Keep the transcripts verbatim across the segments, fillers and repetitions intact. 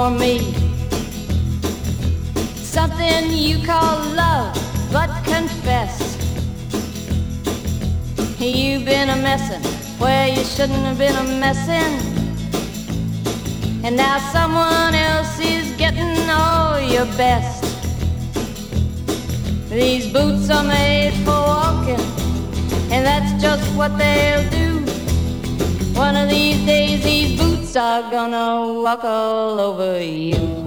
for me. Something you call love, but confess you've been a messin' where you shouldn't have been a messin'. And now someone else is getting all your best. These boots are made for walking, and that's just what they'll do. One of these days these boots are gonna walk all over you.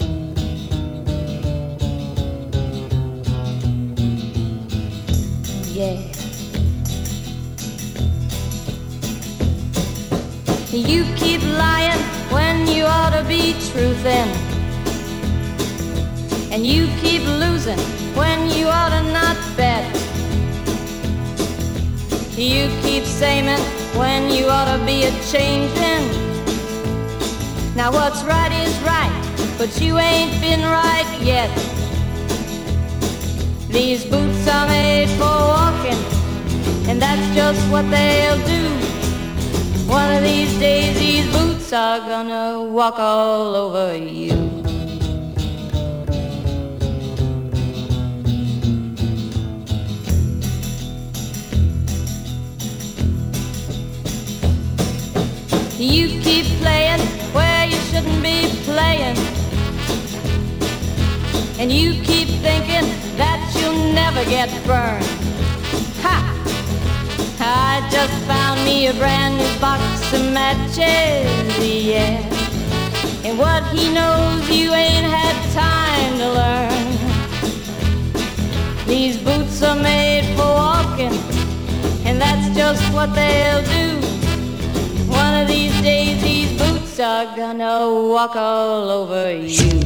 Yeah. You keep lying when you ought to be truthin', and you keep losing when you ought to not bet. You keep saying when you ought to be a changin'. Now what's right is right, but you ain't been right yet. These boots are made for walking, and that's just what they'll do. One of these days these boots are gonna walk all over you. You keep playing where you shouldn't be playing, and you keep thinking that you'll never get burned. Ha! I just found me a brand new box of matches, yeah. And what he knows you ain't had time to learn. These boots are made for walking, and that's just what they'll do. One of these days these boots are gonna walk all over you.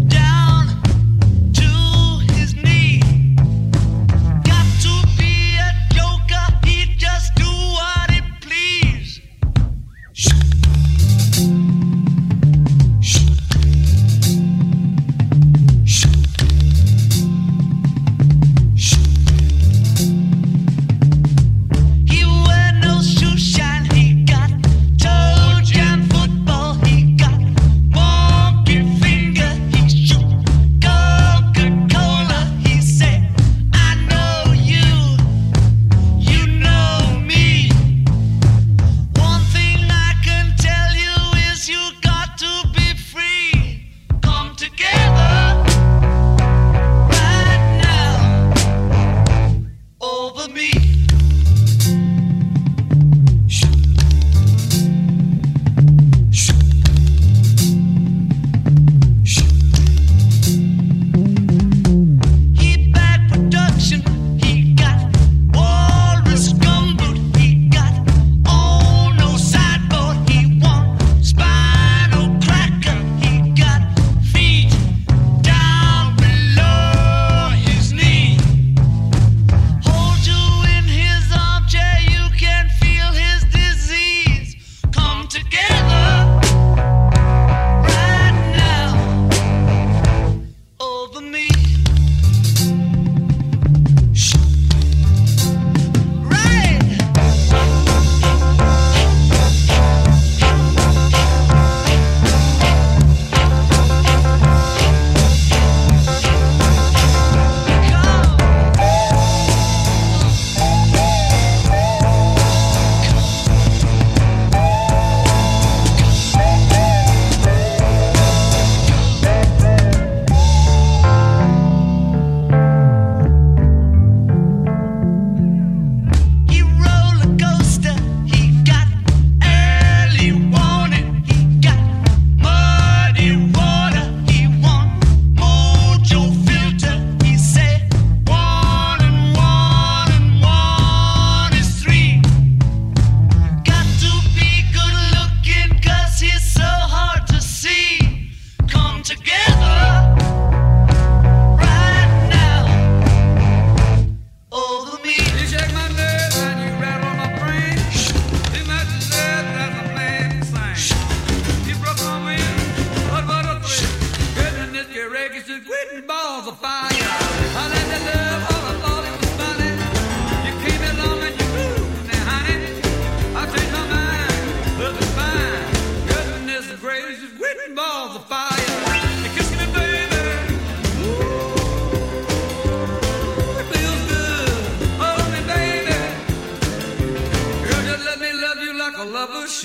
Got to be a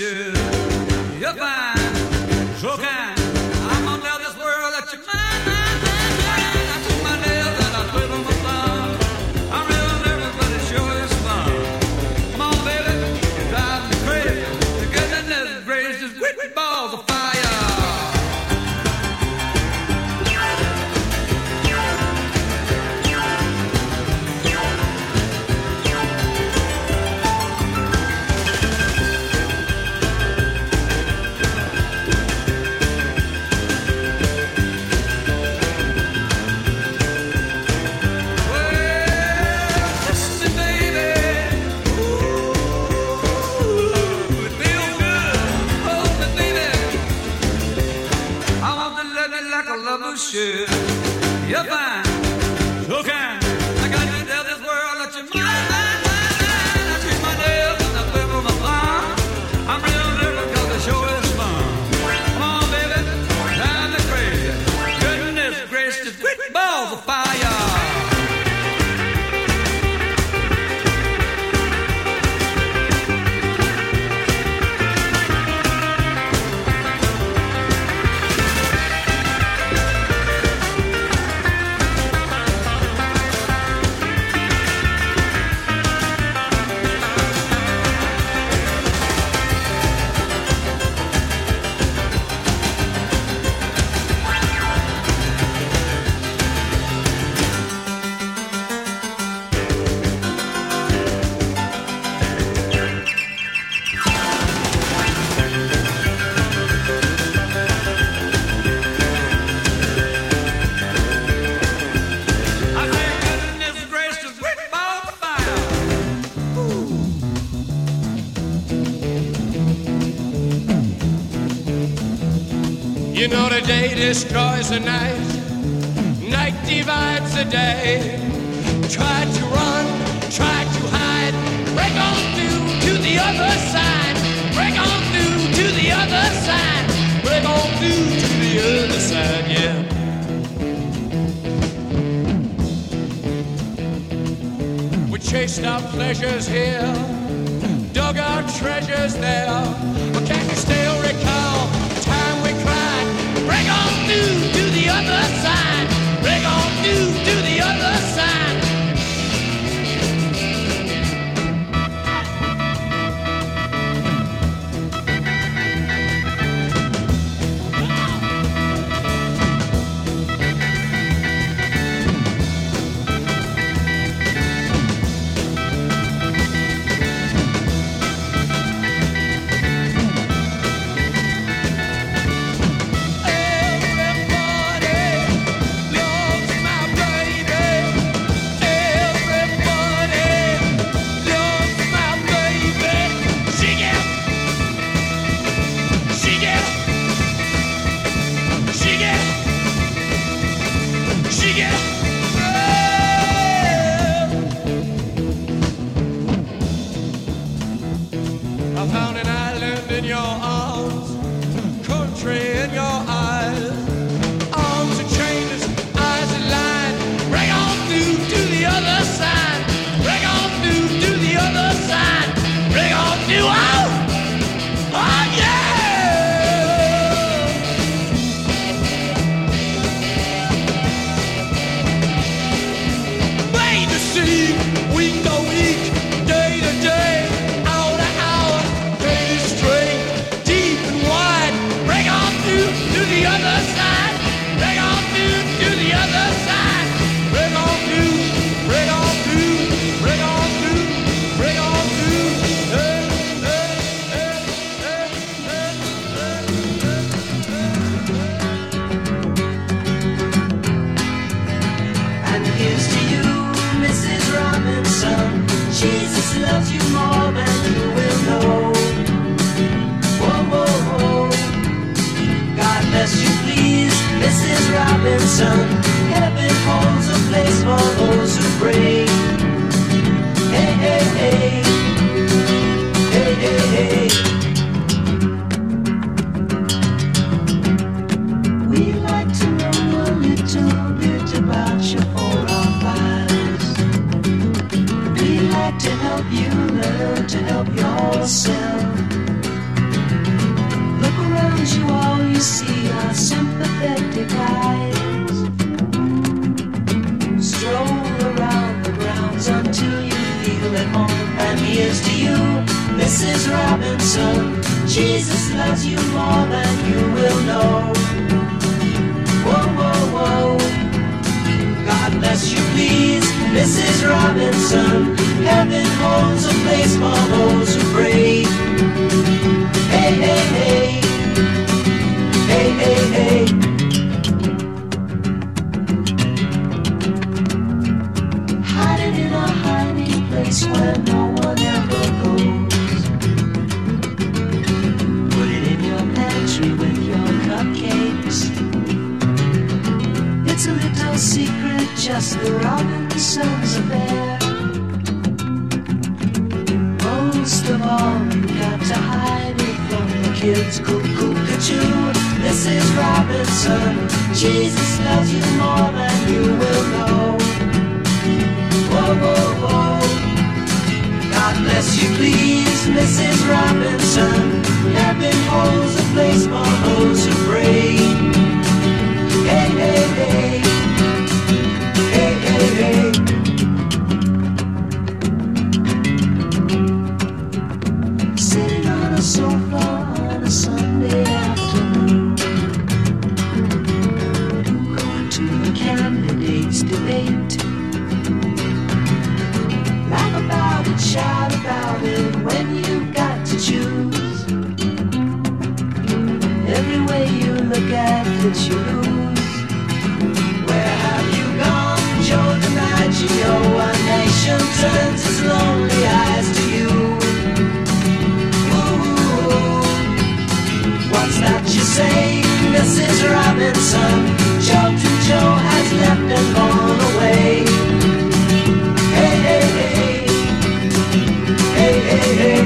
should. You're fine, so kind. I'm gonna tell this world that you're mine, mine, mine, mine. I took my nails and I twiddle my thumb. I'm real nervous, but it sure is fun. Come on, baby, you drive me crazy. The goodness gracious, with balls of fire. Should. You're fine, so kind. I got to tell this world that you're mine, mine, mine, mine. I treat my nails and I quiver my thumb. I'm real nervous cause the show is fun. Come on, baby, drive me crazy. Goodness gracious, quick balls of fire. You know the day destroys the night, night divides the day. Try to run, try to hide, break on through to the other side, break on through to the other side, break on through to the other side, yeah. We chased our pleasures here, dug our treasures there, but can you still recall the time we cried? Break on through to the other side. Break on through to the other side. I found an island in your arms, country in your eyes, arms are changes, eyes are lined. Break on through to the other side. Break on through to the other side. Break on through, oh, oh yeah. Made to see, week to week, day to day. The other side, break on through to the other side, break on through, break on through, break on through, break on through. Hey, hey, hey, hey, hey, hey. And here's to you, Missus Robinson. Jesus loves you more than you will know. Whoa, whoa, whoa. God bless you, please, Missus Robinson. Heaven holds a place for those who pray. Hey, hey, hey. Hey, hey, hey. We'd like to know a little bit about your forefathers. We'd like to help you learn to help yourself. Around you all you see are sympathetic eyes. Stroll around the grounds until you feel at home. And here's to you, Missus Robinson. Jesus loves you more than you will know. Whoa, whoa, whoa. God bless you, please, Missus Robinson. Heaven holds a place for those who pray. Hey, hey, hey. Hey, hey, hey. Hiding in a hiding place where no one ever goes. Put it in your pantry with your cupcakes. It's a little secret, just the Robinsons affair. Most of all, you got to hide it from the kids. Cuckoo-ca-choo, Missus Robinson. Jesus loves you more than you will know. Whoa, whoa, whoa. God bless you, please, Missus Robinson. Heaven holds a place for those who pray. Hey, hey, hey. Hey, hey, hey. Sitting on a sofa on a Sunday afternoon, going to the candidates' debate. Laugh about it, shout about it when you've got to choose. Every way you look at it, you lose. Where have you gone, Joe DiMaggio? A nation turns its lonely eyes to you. What's that you say, Missus Robinson? Children Joe has left and gone away. Hey, hey, hey. Hey, hey, hey.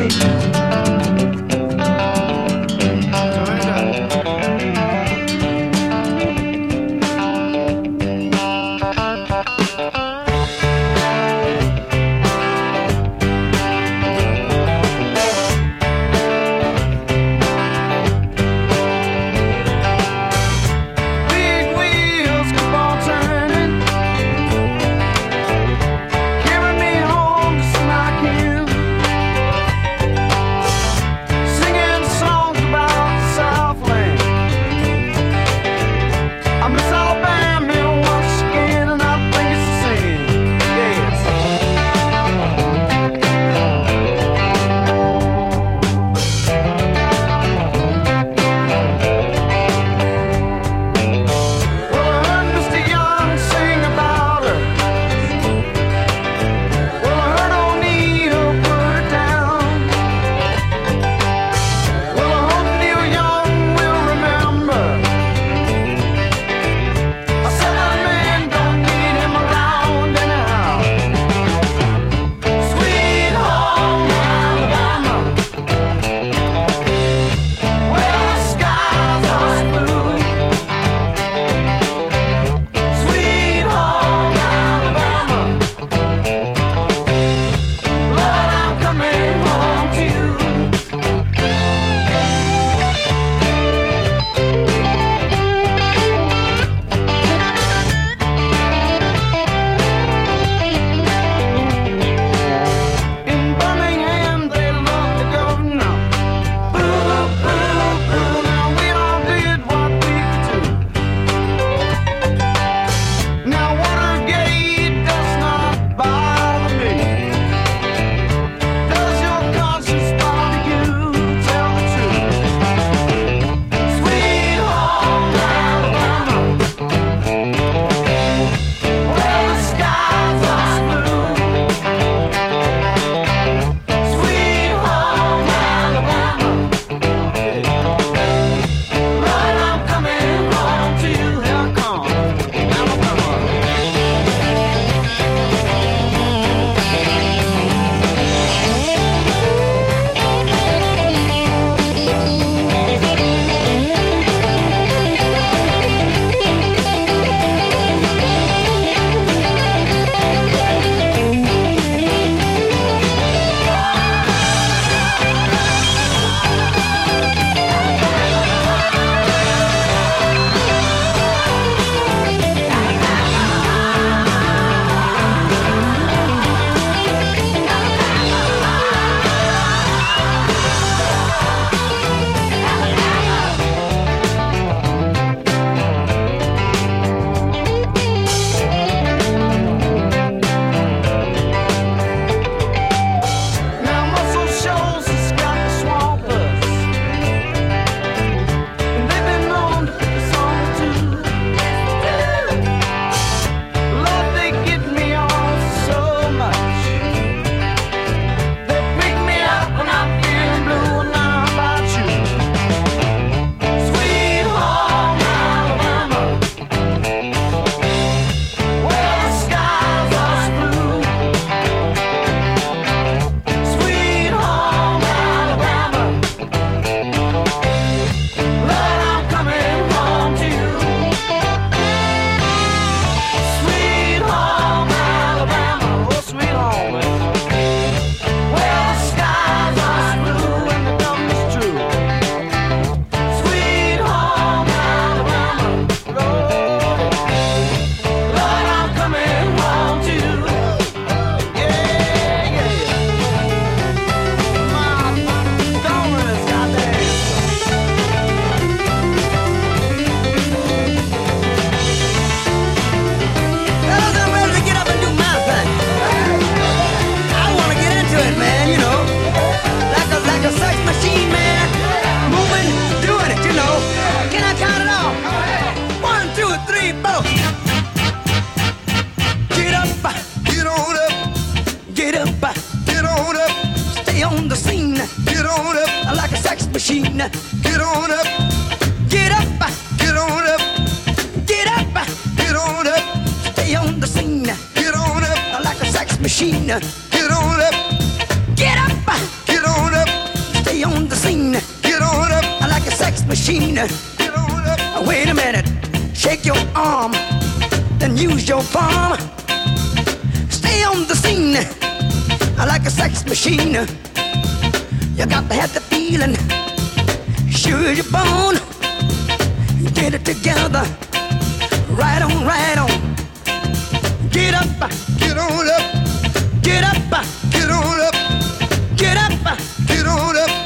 up, get on up, stay on the scene, get on up, like a sex machine, get on up, get up, get on up, get up, get on up, stay on the scene, get on up, like a sex machine, get on up, get up, get on up, stay on the scene, get on up, like a sex machine, get on up. Wait a minute, shake your arm, then use your palm. Stay on the scene like a sex machine. You got to have the feeling, sure you're born. Get it together, right on, right on. Get up, get on up, get up, get on up, get up, get on up.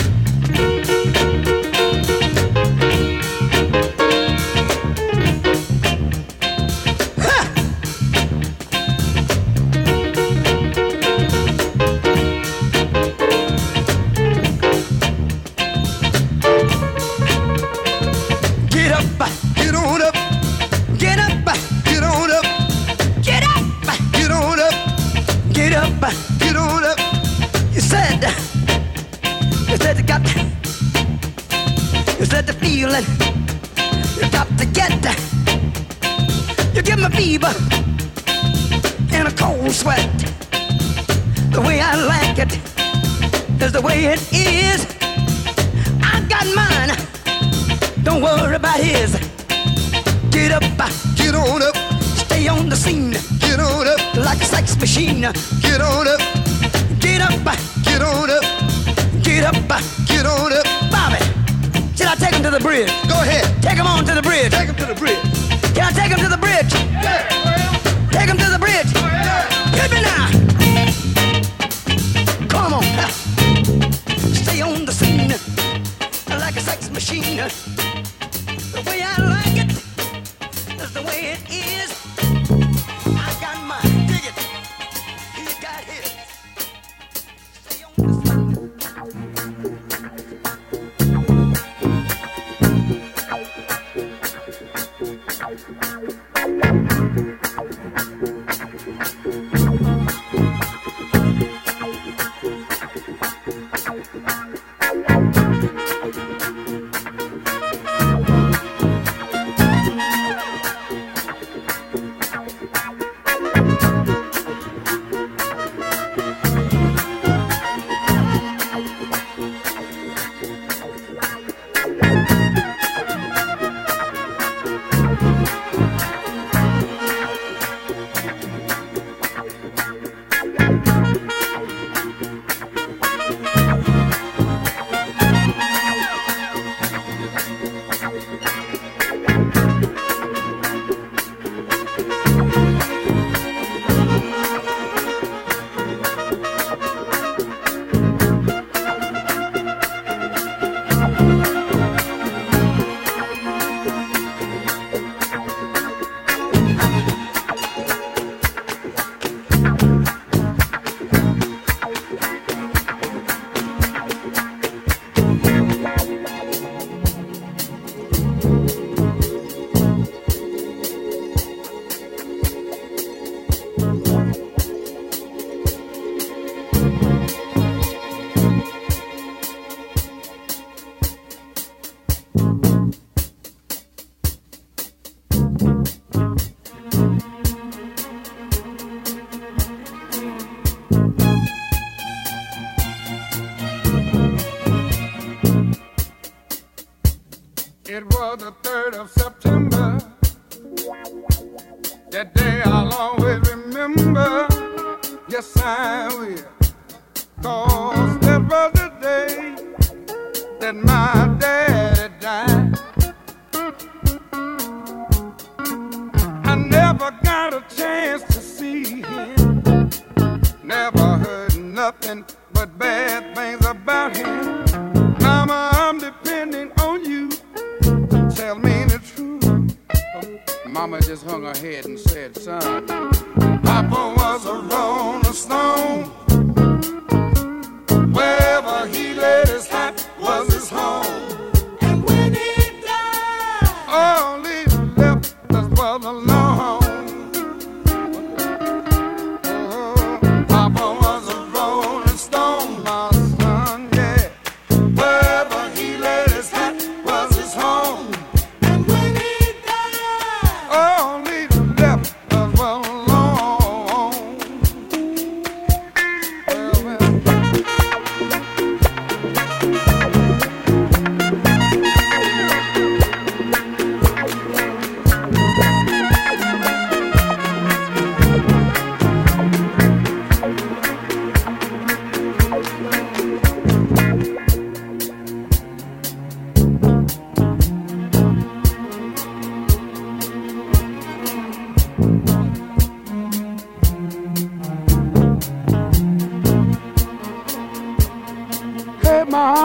Get on up. You said, you said you got, you said the feeling, you got to get, you give me fever and a cold sweat. The way I like it is the way it is. I got mine, don't worry about his. Get up, get on up, stay on the scene. Get on up like a sex machine. Get on up, get up, get on up, get up, get on up. Bobby, should I take him to the bridge? Go ahead. Take him on to the bridge. Take him to the bridge. Can I take him to the bridge? Yeah. Take him to the bridge. Yeah. Hit me now. Come on. Stay on the scene like a sex machine. The way I like it is the way it is. I got mine, dig it. He got his. Stay on the scene. It was the third of September. That day I'll always remember. Yes, I will. 'Cause that was the day that my daddy died. I never got a chance to see him. Never heard nothing but bad things about him. Mama, I'm depending on you. Tell me the truth. Mama just hung her head and said, son, Papa was a rolling stone. Wherever he laid his hat was his home. And when he died, all he left us was alone. Oh, Papa was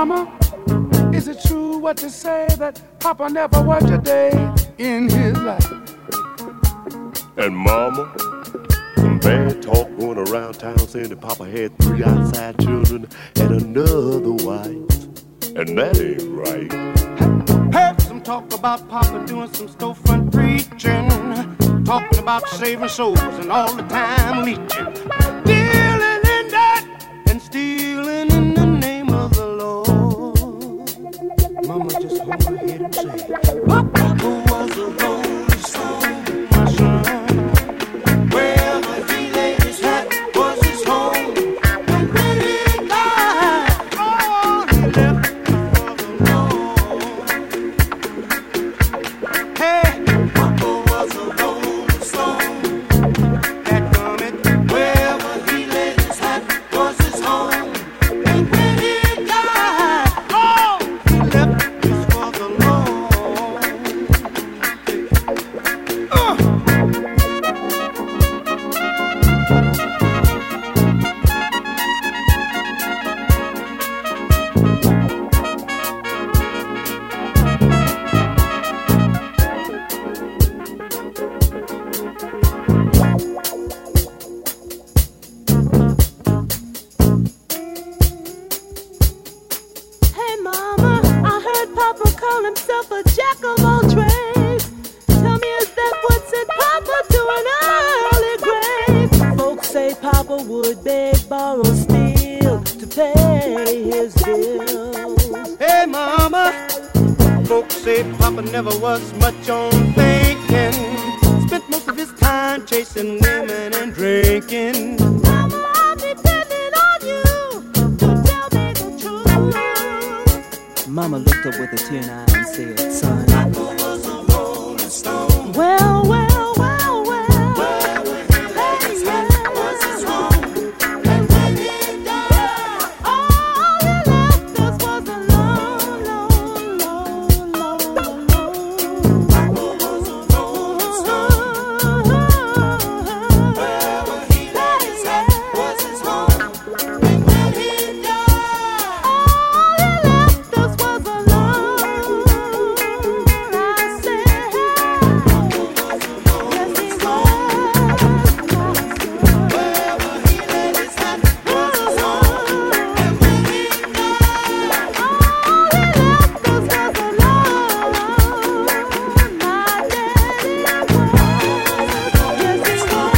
Mama, is it true what they say that Papa never worked a day in his life? And Mama, some bad talk going around town saying that Papa had three outside children and another wife. And that ain't right. Heard some talk about Papa doing some storefront preaching, talking about saving souls and all the time leeching, dealing in that and stealing in the name of the Lord. Mama just hold her head and say, Papa was a rolling stone, my son. Wherever he laid his hat was his home. And when he died, all he left was the Lord. Hey, Papa was a rolling stone. That coming, wherever he laid his hat was his home. And when he died, all he left was for the Lord. Uh. Hey mama, I heard Papa call himself a jack of all trades. Tell me, is that what sent Papa to an early grave? Folks say Papa would beg, borrow, steal to pay his bills. Hey mama, folks say Papa never was much on thinking. Spent most of his time chasing women and drinking. Mama, I'm depending on you to tell me the truth. Mama looked up with a tear in her eye and said, son, Well, well, well, well. Hey, yeah. And when he died, all he left us was alone, alone, alone, alone, alone. Papa was a rolling stone. Wherever he laid his hat was his home. And when he died, all he left us was alone. I said, yes, he was. Wherever he laid his hat was his home. And when he died, all he left us was alone. My daddy was. Yes, he was.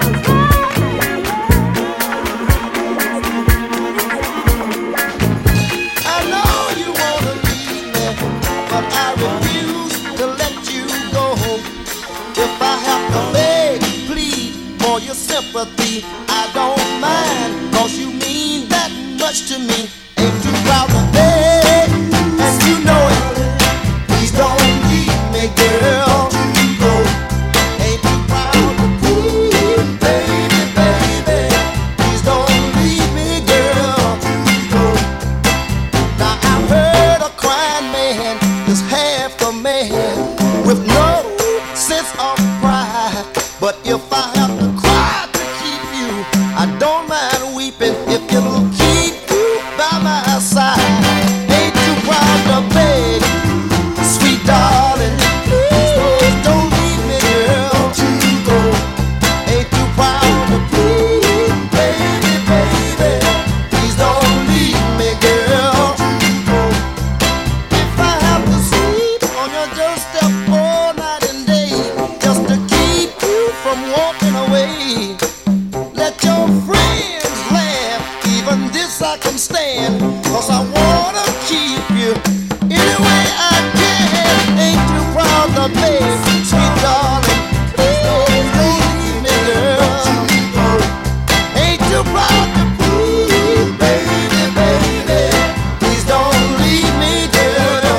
I know you wanna leave me, but I refuse to let you go. If I have to beg, plead for your sympathy, I don't mind, 'cause you mean that much to me. Ain't too proud to beg, and you know it. Please don't leave me, girl. Go. Ain't too proud to plead, baby, baby. Please don't leave me, girl. Go. Now I heard a crying man is half a man with no sense of pride. But if I have to cry to keep you, I don't mind weeping if it'll keep you by my side. Ain't too proud to beg, sweet darling. Please don't leave me, girl. Go. Ain't too proud to plead, baby, baby. Please don't leave me, girl. Go. If I have to sleep on your doorstep all night and day, just to keep you from walking away, let your friends laugh, even this I can stand, 'cause I wanna keep you any way I can. Ain't too proud to beg, sweet darling. Please don't leave me, girl. Ain't too proud to plead, baby, baby. Please don't leave me, girl.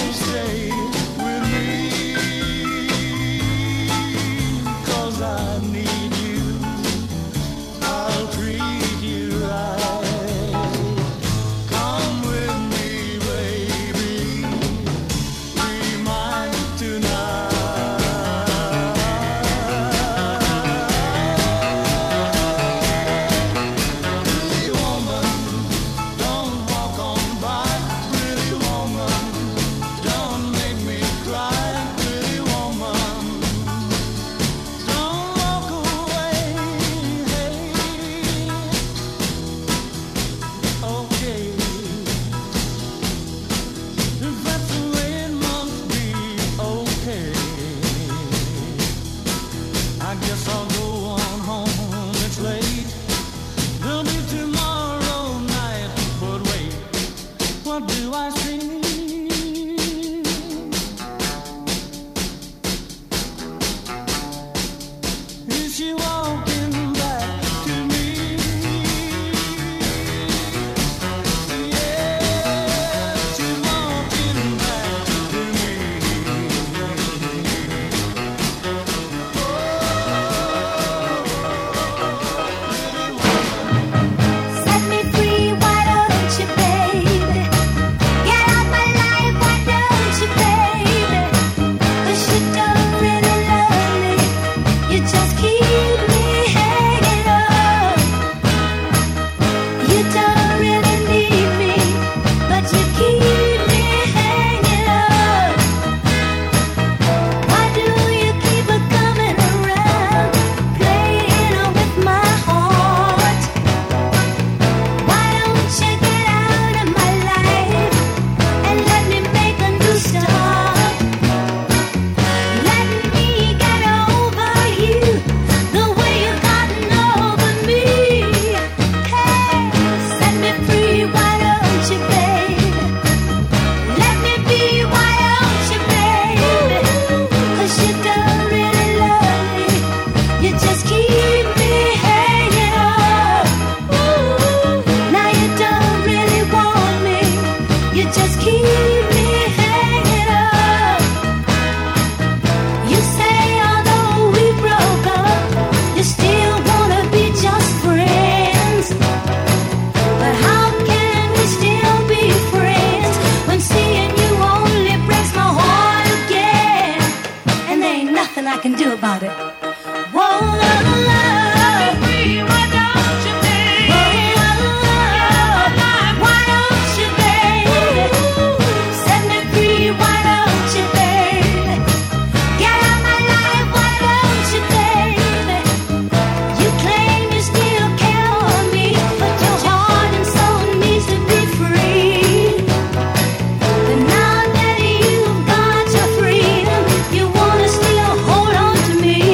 To me.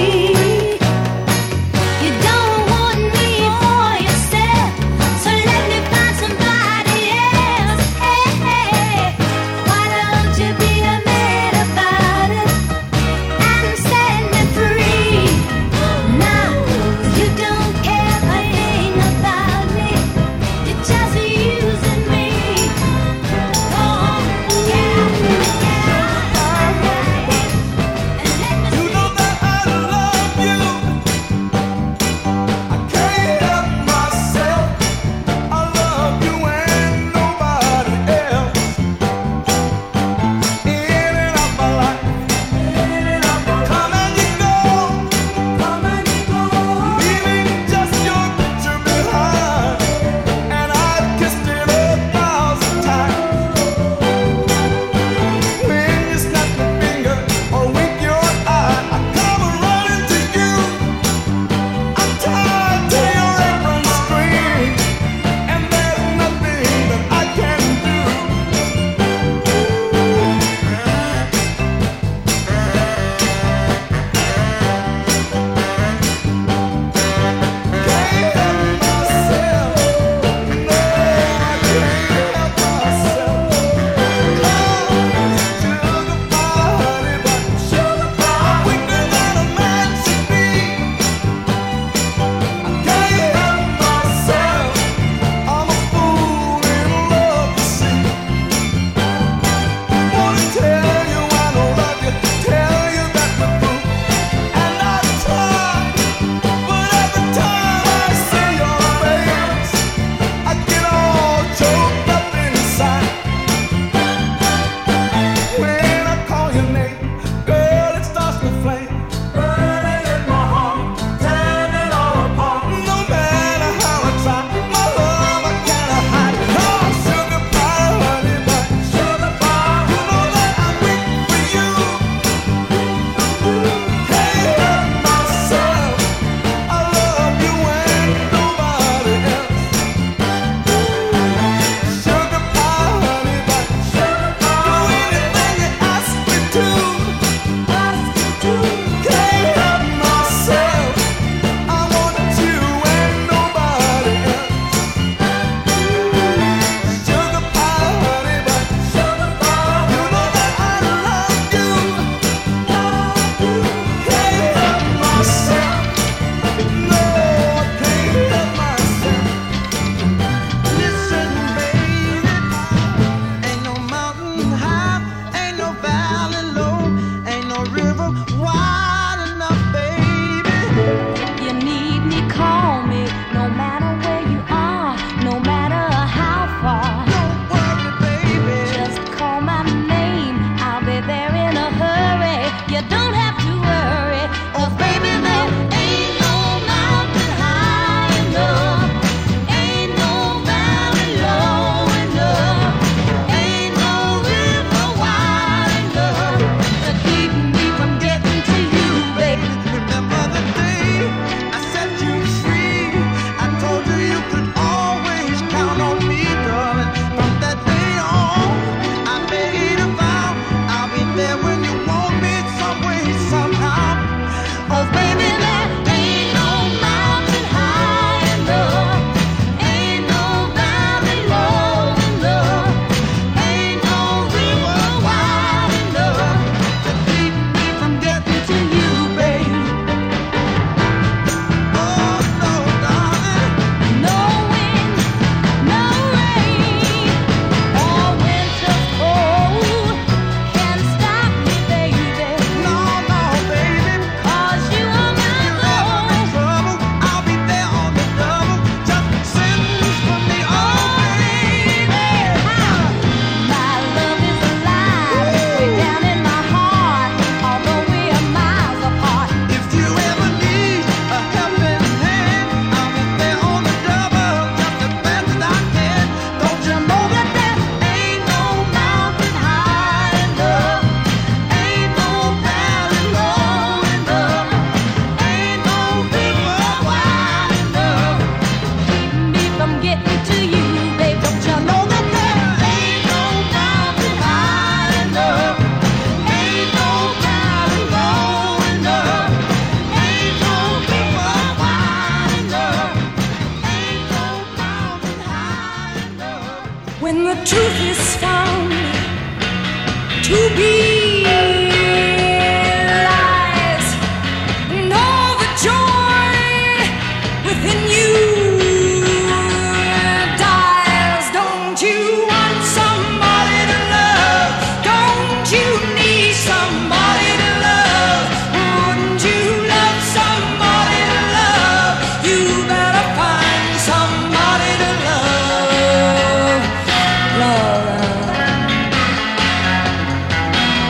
Love, love.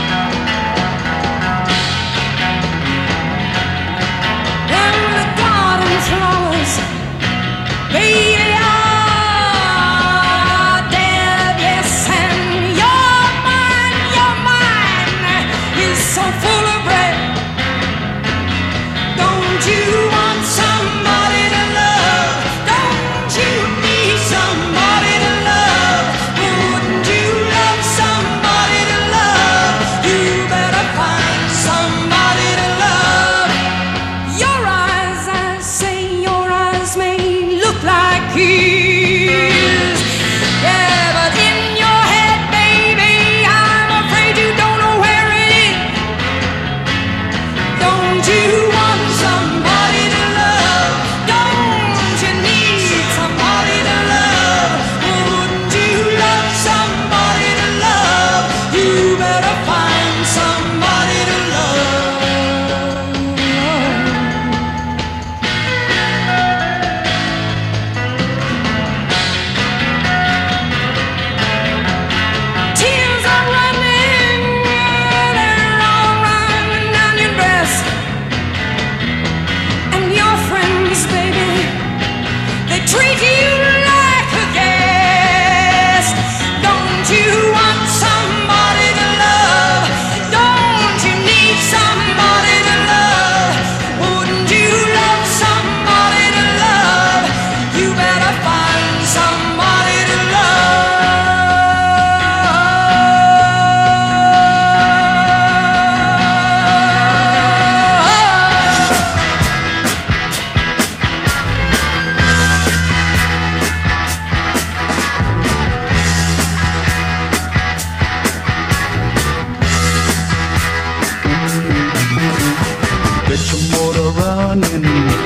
running.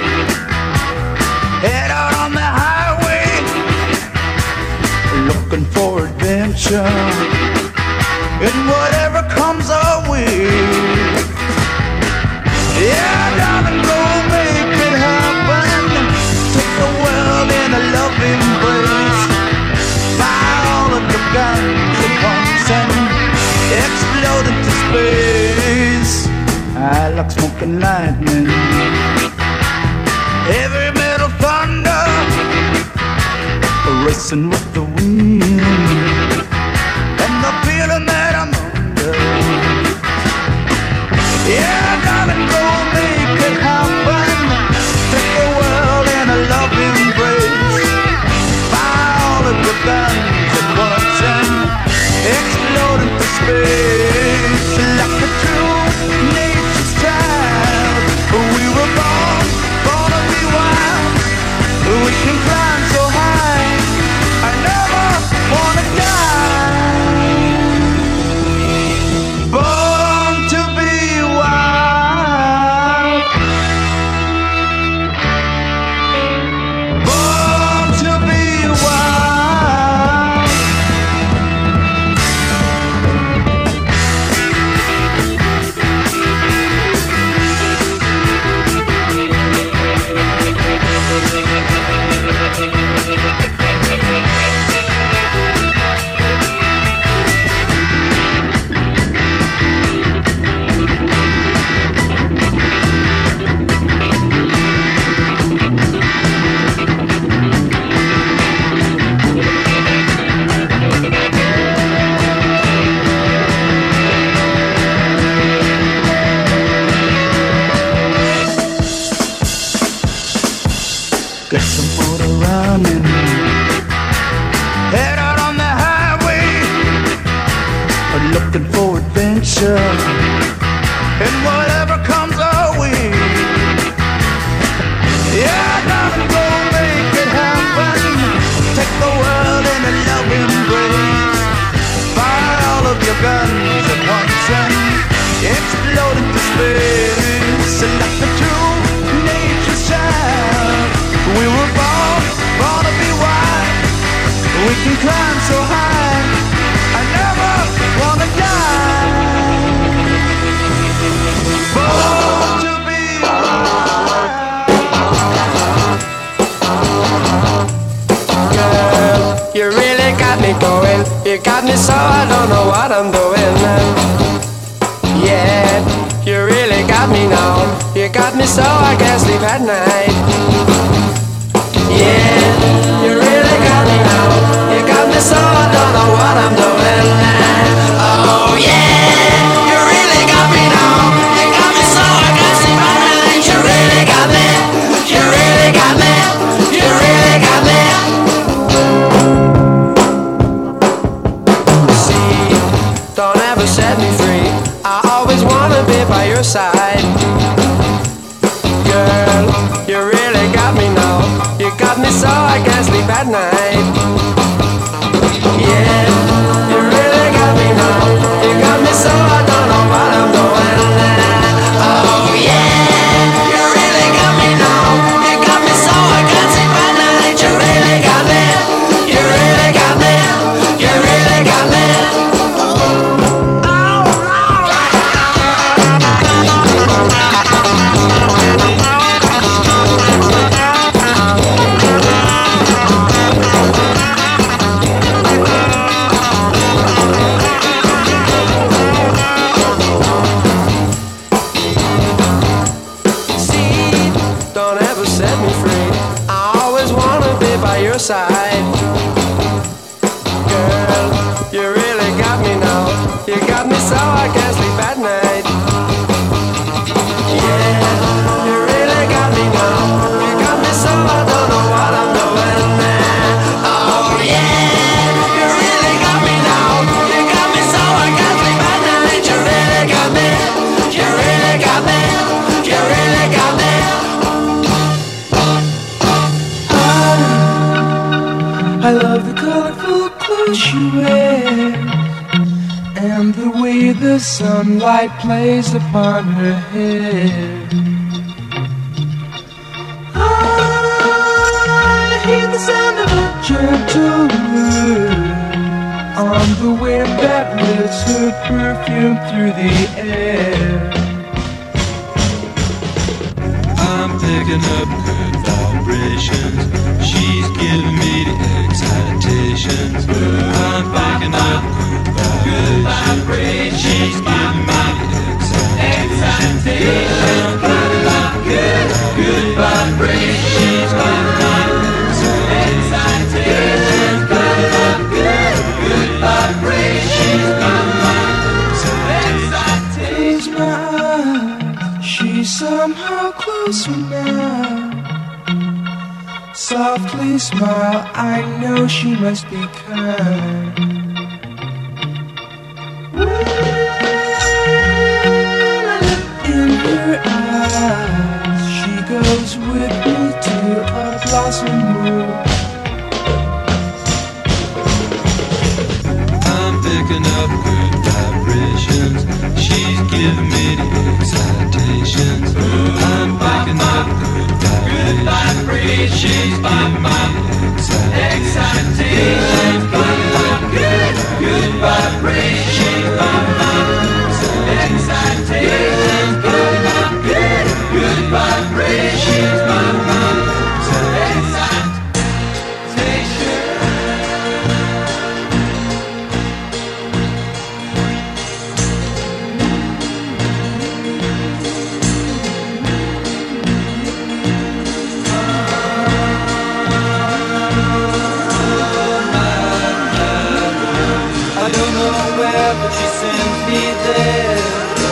Head out on the highway, looking for adventure. And whatever comes our way. Yeah, darling, go make it happen. Take the world in a loving embrace. Fire all of your guns at once and explode into space. I like smoking lightning, heavy metal thunder, racing with the wind, and the feeling that I'm under. Yeah, darling, go make it happen. Take the world in a loving embrace. Fire all of your guns at once and explode into space. Like a true nature's child, we were born, born to be wild. We can climb so high, I never wanna die. Born to be wild, born to be wild. Get some motor running. Head out on the highway, looking for adventure. And whatever comes our way. Yeah, darling, go make it happen. Take the world in a loving embrace. Fire all of your guns at once and explode into space. Like the true nature's child, we were born, born to be wild. We can climb so high, I never wanna die. Born to be wild. Girl, you really got me going. You got me so I don't know what I'm doing. Yeah, you really got me now. You got me so I can't sleep at night. Yeah, you really got me now. You got me so I don't know what I'm doing. Oh yeah, you really got me now. You got me so I can't sleep at night. You really got me. You really got me. You really got me. See, don't ever set me free. I always wanna be by your side. Girl, you really got me now. You got me so I can't sleep at night. Yeah, you really got me now. You got me so I don't know what I'm doing. Oh yeah, you really got me now. You got me so I can't sleep at night. You really got me. You really got me. You really got me. Side. Girl, you really got me now. You got me so I can't sleep at night. Yeah, you really got me now. You got me so I don't know what I'm doing. Oh yeah, you really got me now. You got me so I can't sleep at night. You really got me. You really got me. You really got me. I love the colorful clothes she wears and the way the sunlight plays upon her hair. sound of a gentle word on the wind that lifts her perfume through the air. I'm picking up good vibrations. She's giving me the excitations. I'm picking up good vibrations. She's giving me the excitations. I'm picking up good, good vibrations. She's giving me the excitations. Picking up good, good vibrations. She's giving me the excitations. Close my eyes, she's somehow closer now. Softly smile, I know she must be kind. In her eyes, she goes with me to a blossom room. I'm picking up good vibrations. She's giving me the excitations. I'm picking up good vibrations. She's giving me the excitations. Picking up good, good vibrations. She's giving me the excitations. Picking up good, good vibrations. She's giving me the excitations. But she sends me there.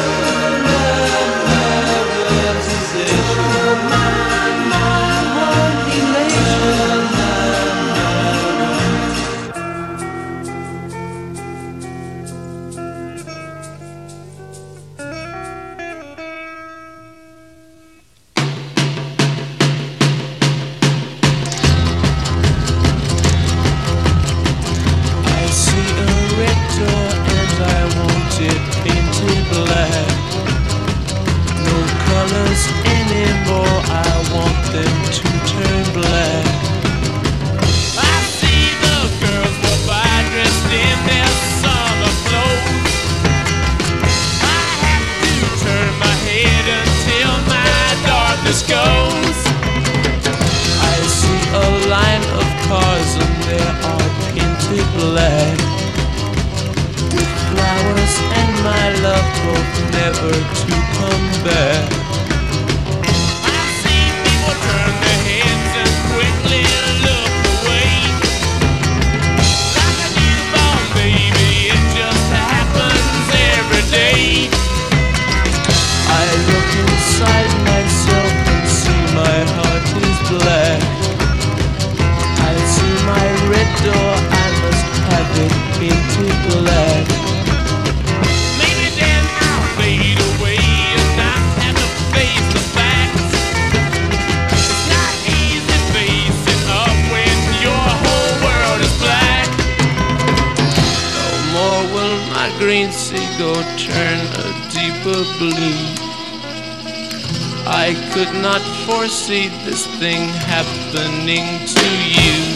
I could not foresee this thing happening to you.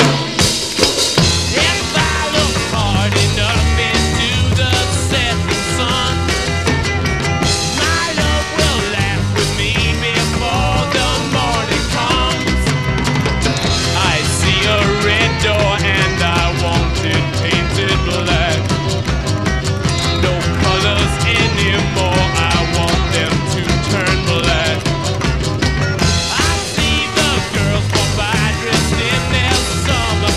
If I look hard enough into the setting sun, my love will laugh with me before the morning comes. I see a red door and I want it painted black. No colors anymore, I want them to turn black. I see the girls walk by dressed in their summer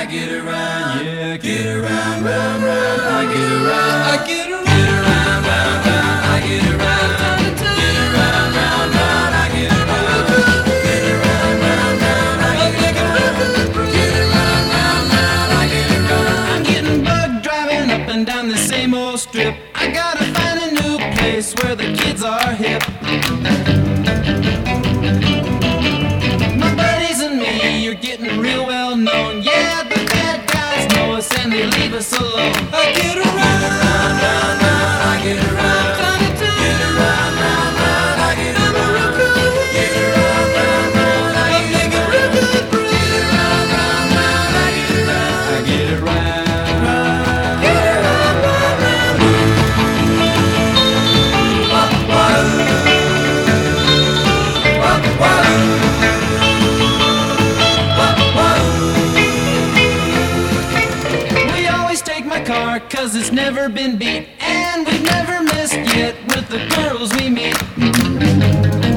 get around, yeah, get around, round, round. I get around, I get around, get around, round, round. I get around, get around, round, round. I get around, get around, round, round. I get around, get around, round, round. I get around. I'm getting bugged driving up and down the same old strip. I gotta find a new place where the kids are hip. My buddies and me, you're getting real well known. Yeah, the bad guys know us and they leave us alone. I get around, round, round, round. I get around, get around, round, round. I get around, get around, round, round. I get around, get around, round, round. I get around, I get around, get around, round, round. Wah, wah, wah, wah. Car, cause it's never been beat, and we've never missed yet with the girls we meet.